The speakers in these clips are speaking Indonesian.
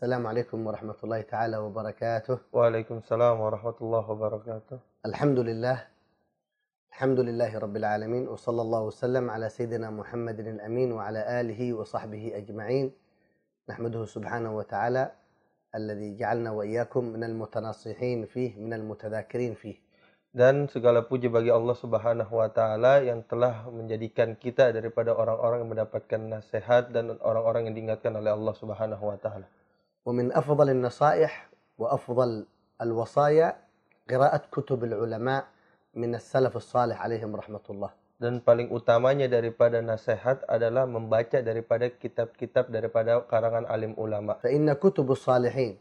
السلام عليكم ورحمة الله تعالى وبركاته. Waalaikumsalam warahmatullahi wabarakatuh. الحمد لله الحمد لله رب العالمين، وصلى الله وسلم على سيدنا محمد الأمين وعلى آله وصحبه أجمعين. نحمده سبحانه وتعالى الذي جعلنا وإياكم من المتناصحين فيه من المتذاكرين فيه. Dan segala puji bagi Allah Subhanahu wa taala yang telah menjadikan kita daripada orang-orang yang mendapatkan nasihat dan orang-orang yang diingatkan oleh Allah Subhanahu wa taala. ومن أفضل النصائح وأفضل الوصايا قراءة كتب العلماء من السلف الصالح عليهم رحمة الله. Dan paling utamanya daripada nasihat adalah membaca daripada kitab-kitab daripada karangan alim ulama. فإن كتب الصالحين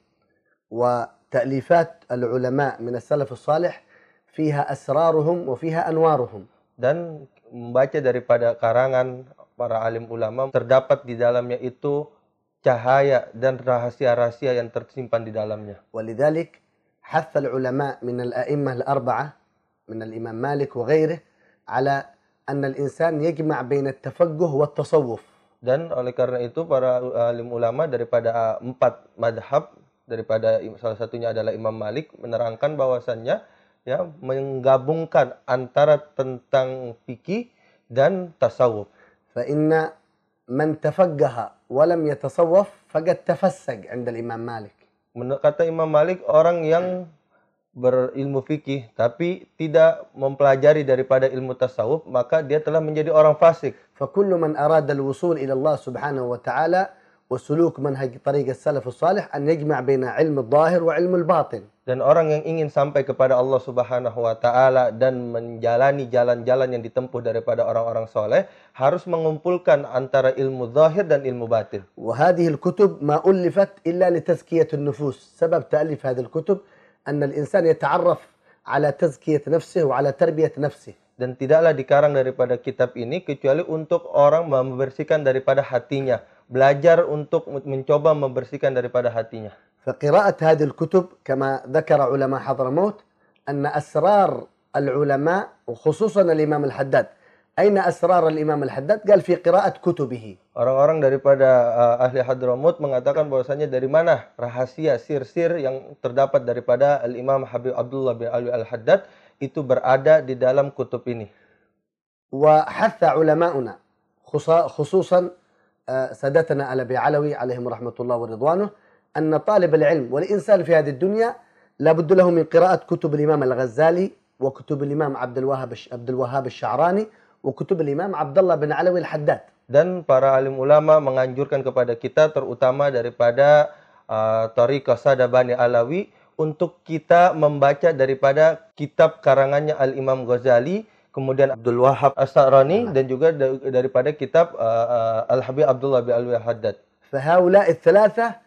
وتأليفات العلماء من السلف الصالح فيها أسرارهم وفيها أنوارهم. Dan membaca daripada karangan para alim ulama terdapat di dalamnya itu cahaya dan rahasia-rahasia yang tersimpan di dalamnya. ولذلك حث العلماء من الأئمة الأربعة من الإمام مالك وغيره على أن الإنسان يجمع بين التفقه والتصوف. Dan oleh karena itu para alim ulama daripada 4 madhab, daripada salah satunya adalah Imam Malik, menerangkan bahwasannya ya menggabungkan antara tentang fikih dan tasawuf. فإن من تفقه ولم يتصوف فقد تفسق عند الإمام مالك. Kata Imam Malik, orang yang berilmu fikih tapi tidak mempelajari daripada ilmu tasawuf, maka dia telah menjadi orang fasik. فكل من أراد الوصول إلى الله سبحانه وتعالى وسلوك منهج طريق السلف الصالح أن يجمع بين علم الظاهر وعلم الباطن. Dan orang yang ingin sampai kepada Allah Subhanahu wa taala dan menjalani jalan-jalan yang ditempuh daripada orang-orang soleh harus mengumpulkan antara ilmu zahir dan ilmu batin. وهذه الكتب ما ألفت إلا لتزكية النفوس. سبب تأليف هذه الكتب أن الإنسان يتعرف على تزكية نفسه وعلى تربية نفسه. Dan tidaklah dikarang daripada kitab ini kecuali untuk orang membersihkan daripada hatinya, belajar untuk mencoba membersihkan daripada hatinya. فقراءة هذه الكتب كما ذكر علماء حضرموت أن أسرار العلماء وخصوصا الإمام الحداد. أين أسرار الإمام الحداد؟ قال في قراءة كتبه. Orang-orang daripada ahli Hadramut mengatakan bahwasanya dari mana rahasia sir-sir yang terdapat daripada Al-Imam Habib Abdullah bin Alwi Al-Haddad itu berada di dalam kutub ini. وحث علماؤنا خصوصا سادتنا الأبي علوي عليهم رحمة الله ورضوانه أن طالب العلم والإنسان في هذه الدنيا لابد له من قراءة كتب الإمام الغزالي وكتب الإمام عبد الوهاب الشعراني وكتب الإمام عبد الله بن علوي الحداد. Dan para alim ulama menganjurkan kepada kita terutama daripada Thariqah Sadabani Alawi untuk kita membaca daripada kitab karangannya Al-Imam Ghazali, kemudian Abdul Wahab As-Sa'rani dan juga daripada kitab Al-Habib Abdullah bin Alwi Al-Haddad. فهؤلاء الثلاثة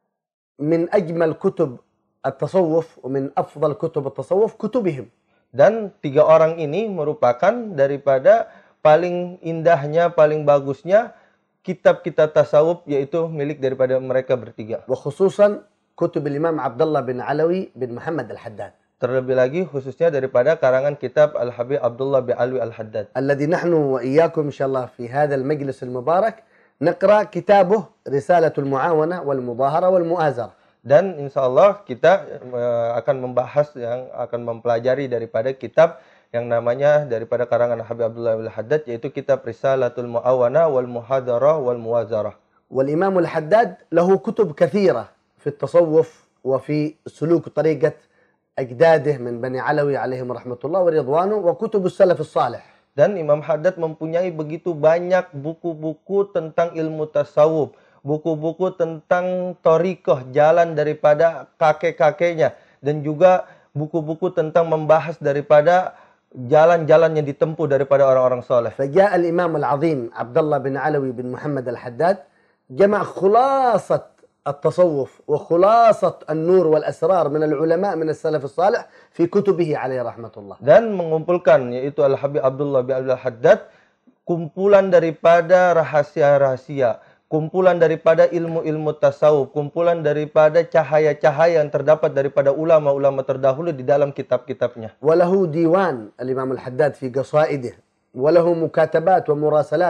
من أجمل كتب التصوف ومن أفضل كتب التصوف كتبهم. Dan 3 orang ini merupakan daripada paling indahnya, paling bagusnya kitab-kitab tasawuf, yaitu milik daripada mereka bertiga. وخصوصا كتب الإمام عبد الله بن علوي بن محمد الحداد. Terlebih lagi khususnya daripada karangan kitab Al-Habib Abdullah bin Alwi Al-Haddad. الذي نحن وإياكم إن شاء الله في هذا المجلس المبارك نقرأ كتابه رسالة المعاونة والمظاهرة والمؤازرة. Dan insya Allah kita akan membahas yang akan mempelajari daripada kitab yang namanya daripada karangan Habib Abdullah Al-Haddad, yaitu kitab Risalatul Mu'awana wal Muhadarah wal Muwazarah. والإمام الحداد له كتب كثيرة في التصوف وفي سلوك طريقة أجداده من بني علوي عليهم رحمة الله ورضوانه وكتب السلف الصالح. Dan Imam Haddad mempunyai begitu banyak buku-buku tentang ilmu tasawuf, buku-buku tentang thariqah, jalan daripada kakek-kakeknya, dan juga buku-buku tentang membahas daripada jalan-jalan yang ditempuh daripada orang-orang soleh. فجاء الإمام العظيم عبد الله بن علوي بن محمد الحداد جمع خلاصة التصوف وخلاصة النور والأسرار من العلماء من السلف الصالح في كتبه عليه رحمة الله. Dan mengumpulkan yaitu Al-Habib Abdullah bin Al-Haddad kumpulan daripada rahasia-rahasia, kumpulan daripada ilmu-ilmu tasawuf, kumpulan daripada cahaya-cahaya yang terdapat daripada ulama-ulama terdahulu di dalam kitab-kitabnya. وله ديوان الإمام الحداد في قصائده وله مكاتبات ومراسلات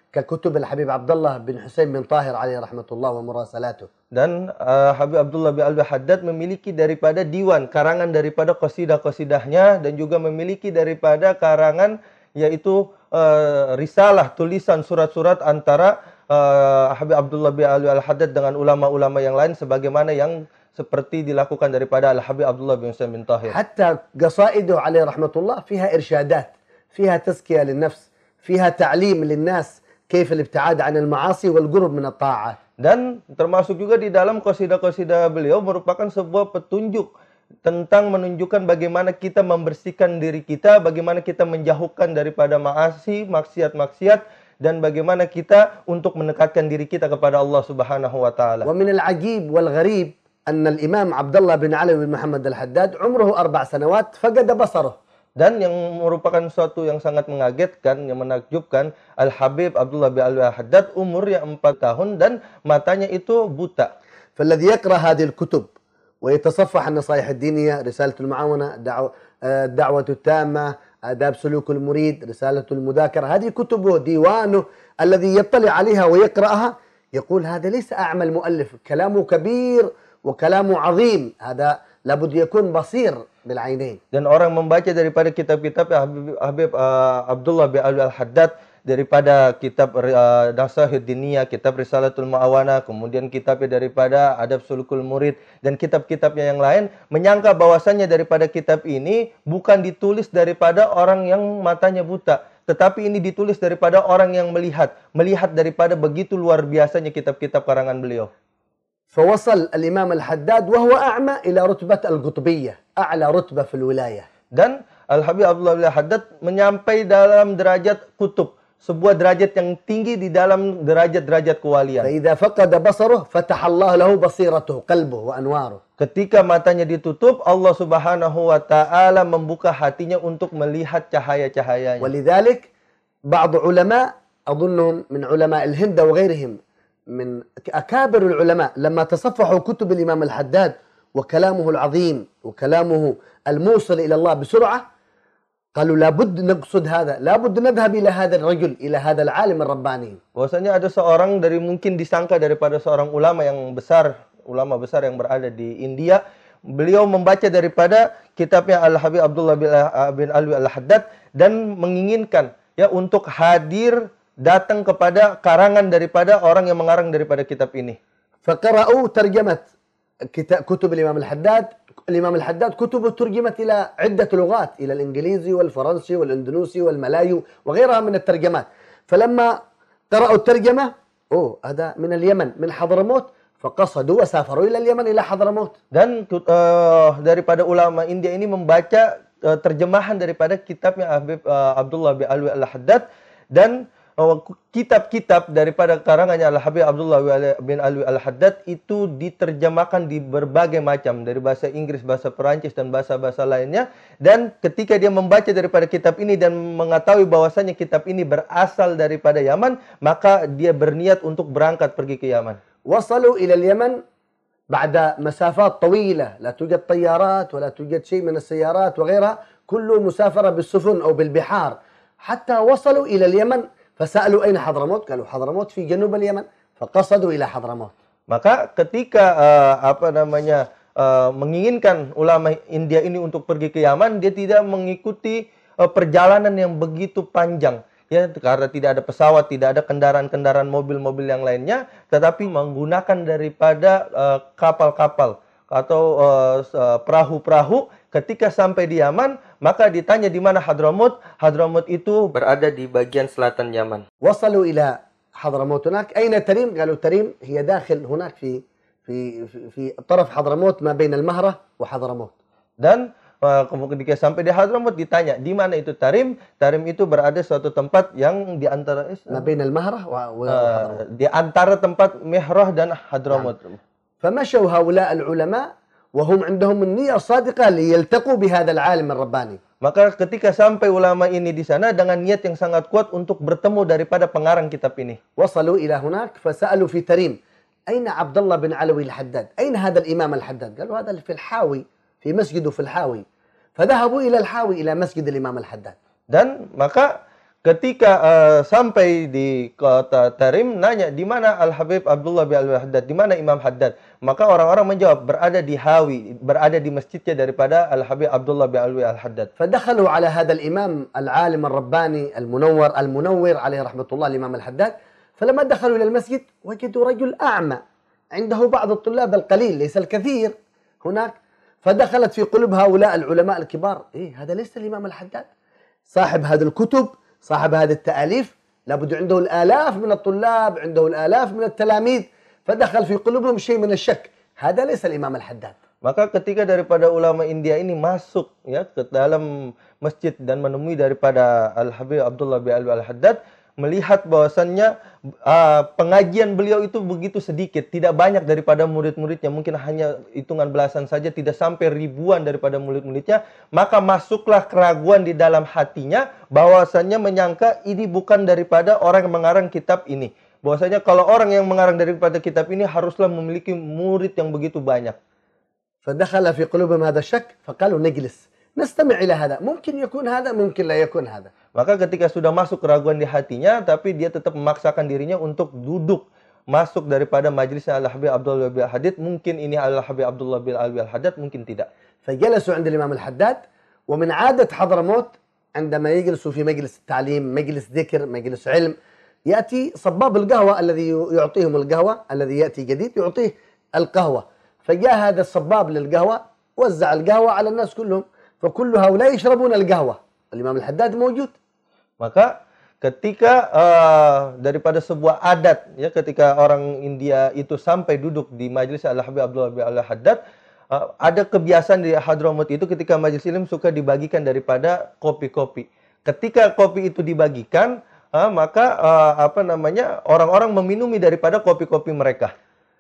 ككتب الحبيب عبد الله بن حسين بن طاهر عليه رحمة الله ومراسلاته. Dan Habib Abdullah bin Alwi Haddad memiliki daripada diwan, karangan daripada qasidah-qasidahnya, dan juga memiliki daripada karangan yaitu risalah, tulisan surat-surat antara Habib Abdullah bin Alwi Al-Haddad dengan ulama-ulama yang lain sebagaimana yang seperti dilakukan daripada Al-Habib Abdullah bin Husain bin Tahir. حتى قصائده عليه رحمة الله فيها إرشادات، فيها تزكية للنفس، فيها تعليم للناس كيف الابتعاد عن المعاصي والقرب من الطاعات. Dan termasuk juga di dalam qasidah-qasidah beliau merupakan sebuah petunjuk tentang menunjukkan bagaimana kita membersihkan diri kita, bagaimana kita menjauhkan daripada maasi, maksiat-maksiat, dan bagaimana kita untuk mendekatkan diri kita kepada Allah Subhanahu wa taala. ومن العجيب والغريب أن الإمام عبد الله بن علي بن محمد الحداد عمره 4 سنوات فقد بصره. Dan yang merupakan suatu yang sangat mengagetkan, yang menakjubkan, Al-Habib Abdullah bin Alwi Al-Haddad umurnya 4 tahun dan matanya itu buta. فالذي يقرأ هذه الكتب ويتصفح النصائح الدينية، رسالة المعاونة، الدعوة التامة، آداب سلوك المريد، رسالة المذاكرة، هذه كتبه، ديوانه الذي يطلع عليها ويقرأها يقول هذا ليس أعمل مؤلف، كلامه كبير وكلامه عظيم، هذا لابد يكون بصير بالعينين. Dan orang membaca daripada kitab-kitab Habib Abdullah bin Alwi Al-Haddad, daripada kitab Nasaihud Diniyah, kitab Risalatul Ma'awana, kemudian kitabnya daripada Adab Sulukul Murid, dan kitab-kitabnya yang lain, menyangka bahwasannya daripada kitab ini bukan ditulis daripada orang yang matanya buta, tetapi ini ditulis daripada orang yang melihat daripada begitu luar biasanya kitab-kitab karangan beliau. فوصل الإمام الحداد وهو أعمى إلى رتبة القطبية، أعلى رتبة في الولاية. Dan Al-Habib Abdullah bin Haddad menyampai dalam derajat kutub, sebuah derajat yang tinggi di dalam derajat-derajat kewalian. فإذا فقد بصره فتح الله له بصيرته، قلبه وأنواره. Ketika matanya ditutup, Allah Subhanahu wa taala membuka hatinya untuk melihat cahaya-cahayanya. ولذلك بعض علماء أظنهم من علماء الهند وغيرهم من أكابر العلماء لما تصفحوا كتب الإمام الحداد وكلامه العظيم وكلامه الموصل إلى الله بسرعة قالوا لابد نقصد هذا، لابد نذهب إلى هذا الرجل، إلى هذا العالم الرباني. Bahwasanya ada seorang dari mungkin disangka daripada seorang ulama yang besar, ulama besar yang berada di India. Beliau membaca daripada kitabnya Al-Habib Abdullah bin Alwi Al-Haddad dan menginginkan ya untuk hadir datang kepada karangan daripada orang yang mengarang daripada kitab ini. فقرأوا ترجمة كتب الإمام الحداد. الإمام الحداد كتبه ترجمت إلى عدة لغات، إلى الإنجليزي والفرنسي والإندونيسي والملايو وغيرها من الترجمات. فلما قرأوا الترجمة هذا من اليمن، من حضرموت، فقصدوا وسافروا إلى اليمن إلى حضرموت. Dan daripada ulama India ini membaca terjemahan daripada kitabnya Habib Abdullah bin Alwi Al-Haddad, dan kitab-kitab daripada karangannya Al-Habib Abdullah bin Alwi Al-Haddad itu diterjemahkan di berbagai macam, dari bahasa Inggris, bahasa Perancis, dan bahasa-bahasa lainnya. Dan ketika dia membaca daripada kitab ini dan mengetahui bahwasanya kitab ini berasal daripada Yaman, maka dia berniat untuk berangkat pergi ke Yaman. وصلوا إلى اليمن بعد مسافات طويلة، لا توجد طيارات ولا توجد شيء من السيارات وغيرها، كله مسافرة بالسفن أو بالبحار، حتى وصلوا إلى اليمن. فسألوا أين حضرموت؟ قالوا حضرموت في جنوب اليمن، فقصدوا إلى حضرموت. Maka ketika menginginkan ulama India ini untuk pergi ke Yaman, dia tidak mengikuti perjalanan yang begitu panjang. Ya, karena tidak ada pesawat, tidak ada kendaraan-kendaraan mobil-mobil yang lainnya, tetapi menggunakan daripada kapal-kapal atau perahu-perahu. Ketika sampai di Yaman, maka ditanya di mana Hadramut. Hadramut itu berada di bagian selatan Yaman. وصلوا إلى حضرموت هناك. أين تريم؟ قالوا تريم هي داخل هناك في طرف حضرموت ما بين المهرة وحضرموت. Dan ketika sampai di Hadramut ditanya di mana itu Tarim. Tarim itu berada suatu tempat yang di antara ما بين المهرة وحضرموت. di antara tempat Mihrah dan Hadramut. فمشوا هؤلاء العلماء وهم عندهم النية الصادقة ليلتقوا بهذا العالم الرباني. Maka ketika sampai ulama ini di sana dengan niat yang sangat kuat untuk bertemu daripada pengarang kitab ini. وصلوا إلى هناك فسألوا في تريم أين عبد الله بن علوي الحداد؟ أين هذا الإمام الحداد؟ قالوا هذا في الحاوي، في مسجده في الحاوي. فذهبوا إلى الحاوي إلى مسجد الإمام الحداد. Dan maka ketika sampai di kota Tarim, nanya di mana Al-Habib Abdullah bin Alwi Al-Haddad, di mana Imam Haddad. Maka orang-orang menjawab berada di Hawi, berada di masjidnya daripada Al-Habib Abdullah bin Alwi Al-Haddad. فدخلوا على هذا الإمام العالم الرباني المنور عليه رحمة الله الإمام الحداد. فلما دخلوا إلى المسجد وجدوا رجل أعمى عنده بعض الطلاب القليل ليس الكثير هناك. فدخلت في قلوب هؤلاء العلماء الكبار هذا ليس الإمام الحداد، صاحب هذه الكتب، صاحب هذه التأليف، لابد عنده الآلاف من الطلاب، عنده الآلاف من التلاميذ. فدخل في قلوبهم شيء من الشك، هذا ليس الإمام الحداد. Maka ketika daripada ulama India ini masuk ya ke dalam masjid dan menemui daripada Al-Habib Abdullah bin Alwi Al-Haddad, melihat bahwasannya pengajian beliau itu begitu sedikit, tidak banyak daripada murid-muridnya, mungkin hanya hitungan belasan saja, tidak sampai ribuan daripada murid-muridnya, maka masuklah keraguan di dalam hatinya bahwasannya menyangka ini bukan daripada orang yang mengarang kitab ini. Bahwasanya kalau orang yang mengarang daripada kitab ini haruslah memiliki murid yang begitu banyak. فدخل في قلوبهم هذا الشك فقالوا نجلس نستمع إلى هذا ممكن يكون هذا ممكن لا يكون هذا. Maka ketika sudah masuk keraguan di hatinya, tapi dia tetap memaksakan dirinya untuk duduk masuk daripada majlisnya Al-Habib Abdullah bin Al-Haddad. Mungkin ini Al-Habib Abdullah bin Alwi Al-Haddad, mungkin tidak. فجلسوا عند الإمام الحداد. ومن عادة حضرموت عندما يجلسوا في مجلس التعليم، مجلس ذكر، مجلس علم، يأتي صباب القهوة الذي يعطيهم القهوة، الذي يأتي جديد يعطيه القهوة. فجاء هذا الصباب للقهوة وزع القهوة على الناس كلهم، فكل هؤلاء يشربون القهوة، الإمام الحداد موجود. Maka ketika daripada sebuah adat ya, ketika orang India itu sampai duduk di majelis Al-Habib Abdullah bin Al-Haddad, ada kebiasaan di Hadramaut itu ketika majelis ilmu suka dibagikan daripada kopi-kopi. Ketika kopi itu dibagikan, maka orang-orang meminumi daripada kopi-kopi mereka.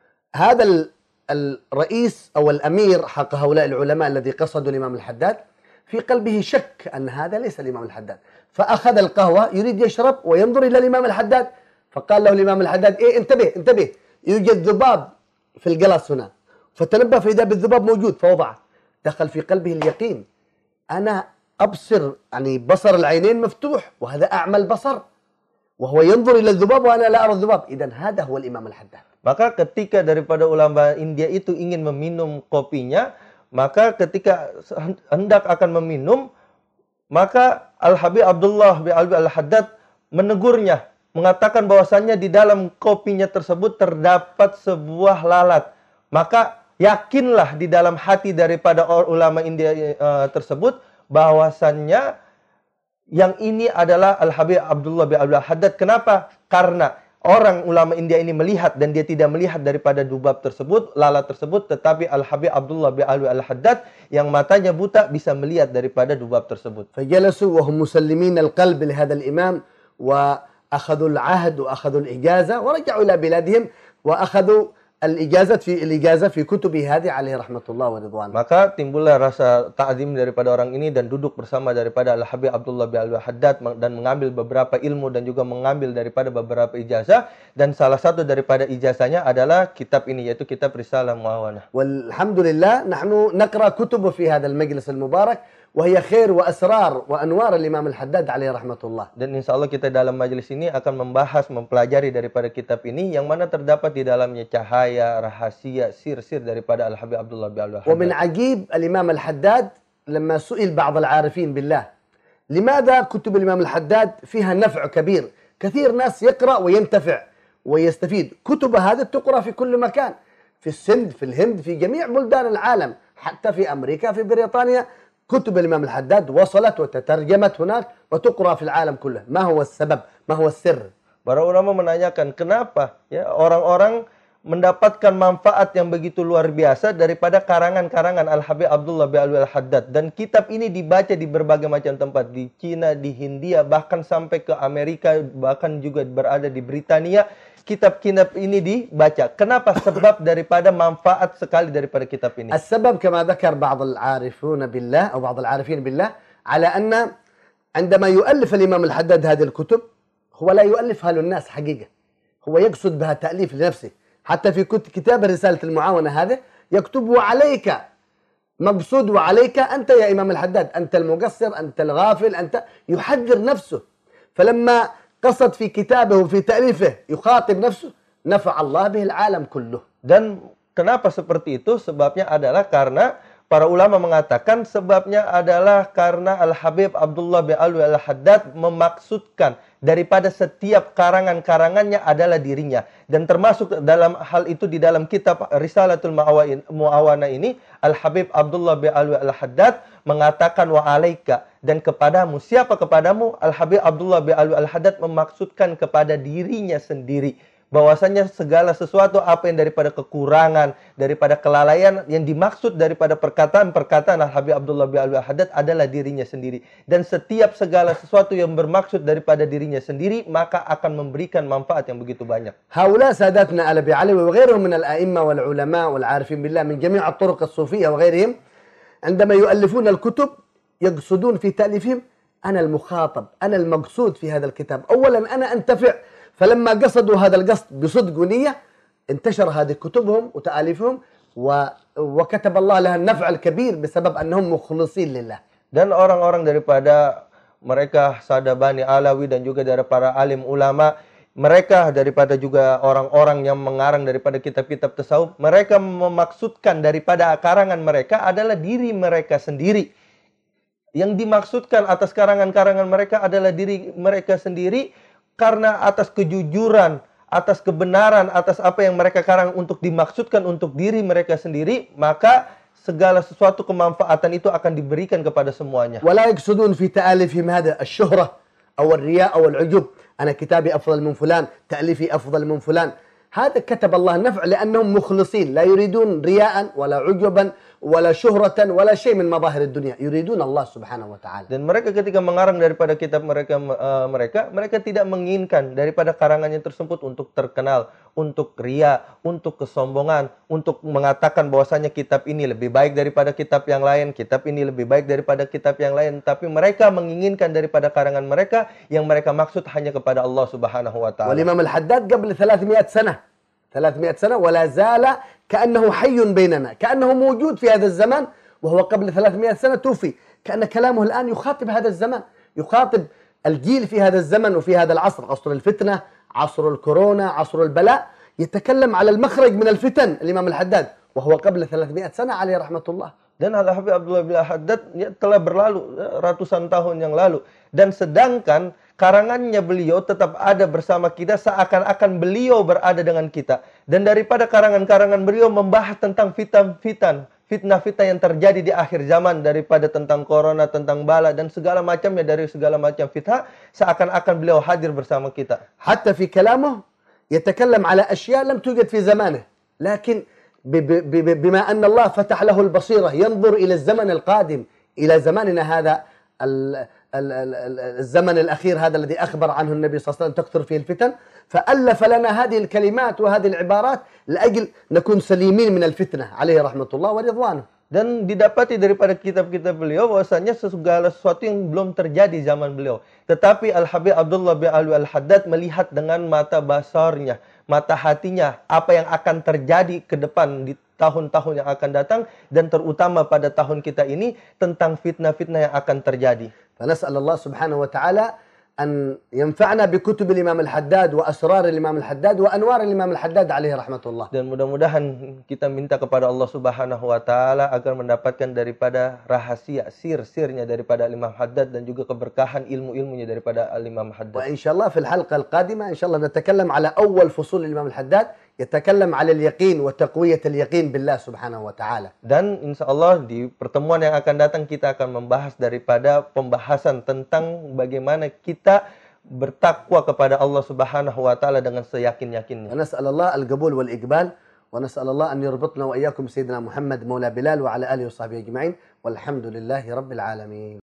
هذا الرئيس أو الأمير حق هؤلاء العلماء الذي قصدوا الإمام الحداد في قلبه شك أن هذا ليس الإمام الحداد، فأخذ القهوة يريد يشرب وينظر إلى الإمام الحداد، فقال له الإمام الحداد انتبه انتبه، يوجد ذباب في القلاص هنا. فتنبه فإذا بالذباب موجود فوضعه. دخل في قلبه اليقين، أنا أبصر يعني بصر العينين مفتوح وهذا أعمى البصر، وهو ينظر إلى الذباب وأنا لا أرى الذباب، إذن هذا هو الإمام الحداد. Maka ketika daripada ulama India itu ingin meminum kopinya, maka ketika hendak akan meminum, maka Al-Habib Abdullah bin Alwi Al-Haddad menegurnya, mengatakan bahwasannya di dalam kopinya tersebut terdapat sebuah lalat. Maka yakinlah di dalam hati daripada ulama India tersebut bahwasannya yang ini adalah Al-Habib Abdullah bin Alwi Al-Haddad. Kenapa? Karena orang ulama India ini melihat dan dia tidak melihat daripada dubab tersebut, lalat tersebut, tetapi Al-Habib Abdullah bin Alwi Al-Haddad yang matanya buta bisa melihat daripada dubab tersebut. فجلسوا وهم مسلمين القلب لهذا الإمام وأخذوا العهد وأخذوا الإجازة ورجعوا إلى بلادهم وأخذوا الإجازة في كتبه هذه عليه رحمة الله ورضوانه. Maka timbullah rasa ta'zim daripada orang ini dan duduk bersama daripada Al-Habib Abdullah bin Alwi Al-Haddad dan mengambil beberapa ilmu dan juga mengambil daripada beberapa ijazah, dan salah satu daripada ijazahnya adalah kitab ini, yaitu kitab Risalah Muawanah. والحمد لله نحن نقرأ كتبه في هذا المجلس المبارك وهي خير وأسرار وأنوار الإمام الحداد عليه رحمة الله. Dan insya Allah kita dalam majelis ini akan membahas, mempelajari daripada kitab ini yang mana terdapat di dalamnya cahaya, rahasia, sir-sir daripada Al-Habib Abdullah bin Alwi Al-Haddad. ومن عجيب الإمام الحداد لما سئل بعض العارفين بالله لماذا كتب الإمام الحداد فيها نفع كبير، كثير ناس يقرأ وينتفع ويستفيد، كتب هذه تقرأ في كل مكان، في السند، في الهند، في جميع بلدان العالم، حتى في أمريكا، في بريطانيا، كتب الإمام الحداد وصلت وتترجمت هناك وتقرأ في العالم كله. ما هو السبب؟ ما هو السر؟ Para ulama menanyakan kenapa ya orang-orang mendapatkan manfaat yang begitu luar biasa daripada karangan-karangan Al-Habib Abdullah bin Alwi Al-Haddad, dan kitab ini dibaca di berbagai macam tempat, di Cina, di Hindia, bahkan sampai ke Amerika, bahkan juga berada di Britania. Kitab-kitab ini dibaca. Kenapa? Sebab daripada manfaat sekali daripada kitab ini. السبب كما ذكر بعض العارفون بالله أو بعض العارفين بالله على أن عندما يؤلف الإمام الحداد هذه الكتب هو لا يؤلفها للناس حقيقة، هو يقصد بها تأليف لنفسه. حتى في كتاب رسالة المعاونة هذه يكتب وعليك، مقصود وعليك أنت يا إمام الحداد، أنت المقصر، أنت الغافل، أنت يحذر نفسه. فلما قصد في كتابه وفي تأليفه يخاطب نفسه نفع الله به العالم كله. Dan kenapa seperti itu? Sebabnya adalah karena para ulama mengatakan sebabnya adalah karena Al-Habib Abdullah bin Alwi Al-Haddad memaksudkan daripada setiap karangan-karangannya adalah dirinya. Dan termasuk dalam hal itu di dalam kitab Risalatul Mu'awana ini, Al-Habib Abdullah bin Alwi Al-Haddad mengatakan wa alaika, dan kepadamu. Siapa kepadamu? Al-Habib Abdullah bin Alwi Al-Haddad memaksudkan kepada dirinya sendiri. Bahwasanya segala sesuatu apa yang daripada kekurangan, daripada kelalaian yang dimaksud daripada perkataan-perkataan Al-Habib Abdullah bin Alwi Al-Haddad adalah dirinya sendiri. Dan setiap segala sesuatu yang bermaksud daripada dirinya sendiri maka akan memberikan manfaat yang begitu banyak. هؤلاء ساداتنا الأبي علوي وغيرهم من الأئمة والعلماء والعارفين بالله من جميع الطرق الصوفية وغيرهم عندما يؤلفون الكتب يقصدون في تأليفهم أنا المخاطب، أنا المقصود في هذا الكتاب. أولا أنا أنتفع، فلما قصدوا هذا القصد بصدق ونية انتشر هذه كتبهم وتأليفهم وكتب الله لها النفع الكبير بسبب أنهم مخلصين لله. Dan orang-orang daripada mereka Sadabani Alawi dan juga dari para alim ulama, mereka daripada juga orang-orang yang mengarang daripada kitab-kitab tasawuf, mereka memaksudkan daripada karangan mereka adalah diri mereka sendiri. Yang dimaksudkan atas karangan-karangan mereka adalah diri mereka sendiri, karena atas kejujuran, atas kebenaran, atas apa yang mereka karang untuk dimaksudkan untuk diri mereka sendiri, maka segala sesuatu kemanfaatan itu akan diberikan kepada semuanya. ولا يقصدون في تأليفهم هذا الشهرة أو الرياء أو العجب. أنا كتابي أفضل من فلان، تأليفي أفضل من فلان. هذا كتب الله النفع لأنهم مخلصين، لا يريدون رياء ولا عجبا ولا شهرة ولا شيء من مظاهر الدنيا، يريدون الله سبحانه وتعالى. Dan mereka ketika mengarang daripada kitab mereka tidak menginginkan daripada karangannya tersebut untuk terkenal, untuk ria, untuk kesombongan, untuk mengatakan bahwasanya kitab ini lebih baik daripada kitab yang lain, kitab ini lebih baik daripada kitab yang lain, tapi mereka menginginkan daripada karangan mereka yang mereka maksud hanya kepada Allah Subhanahu wa taala. والإمام الحداد قبل 300 سنة ولا زال كأنه حي بيننا، كأنه موجود في هذا الزمان، وهو قبل 300 سنة توفي. كأن كلامه الآن يخاطب هذا الزمان، يخاطب الجيل في هذا الزمن وفي هذا العصر، عصر الفتنة، عصر الكورونا، عصر البلاء، يتكلم على المخرج من الفتن الإمام الحداد وهو قبل 300 سنة عليه رحمة الله. Dan Al-Habib Abdullah bin Al-Haddad telah berlalu ratusan tahun yang lalu. Dan sedangkan karangannya beliau tetap ada bersama kita seakan-akan beliau berada dengan kita. Dan daripada karangan-karangan beliau membahas tentang fitnah-fitnah yang terjadi di akhir zaman, daripada tentang corona, tentang bala, dan segala macamnya, dari segala macam fitnah, seakan-akan beliau hadir bersama kita. حتى في كلامه يتكلم على أشياء لم توجد في زمانه، لكن بما أن الله فتح له البصيرة ينظر إلى الزمن القادم، إلى زماننا هذا الزمن الأخير هذا الذي أخبر عنه النبي صلى الله عليه وسلم تكثر فيه الفتن، فألف لنا هذه الكلمات وهذه العبارات لأجل نكون سليمين من الفتنة عليه رحمة الله ورضوانه. Dan didapati daripada kitab-kitab beliau bahwasanya segala sesuatu yang belum terjadi zaman beliau. Tetapi Al-Habib Abdullah bin Alwi Al-Haddad melihat dengan mata basarnya, mata hatinya, apa yang akan terjadi ke depan di tahun-tahun yang akan datang, dan terutama pada tahun kita ini tentang fitnah-fitnah yang akan terjadi. فنسأل الله سبحانه وتعالى أن ينفعنا بكتب الإمام الحداد وأسرار الإمام الحداد وأنوار الإمام الحداد عليه رحمة الله. Dan mudah-mudahan kita minta kepada Allah Subhanahu wa taala agar mendapatkan daripada rahasia sir-sirnya daripada Imam Haddad dan juga keberkahan ilmu-ilmunya daripada Imam Haddad. وإن شاء الله في الحلقة القادمة إن شاء الله نتكلم على أول فصول الإمام الحداد يتكلم على اليقين وتقوية اليقين بالله سبحانه وتعالى. Dan insya Allah di pertemuan yang akan datang kita akan membahas daripada pembahasan tentang bagaimana kita bertakwa kepada Allah Subhanahu wa taala dengan seyakin-yakinnya. ونسأل الله القبول والإقبال ونسأل الله أن يربطنا وإياكم سيدنا محمد مولى بلال وعلى آله وصحبه أجمعين والحمد لله رب العالمين.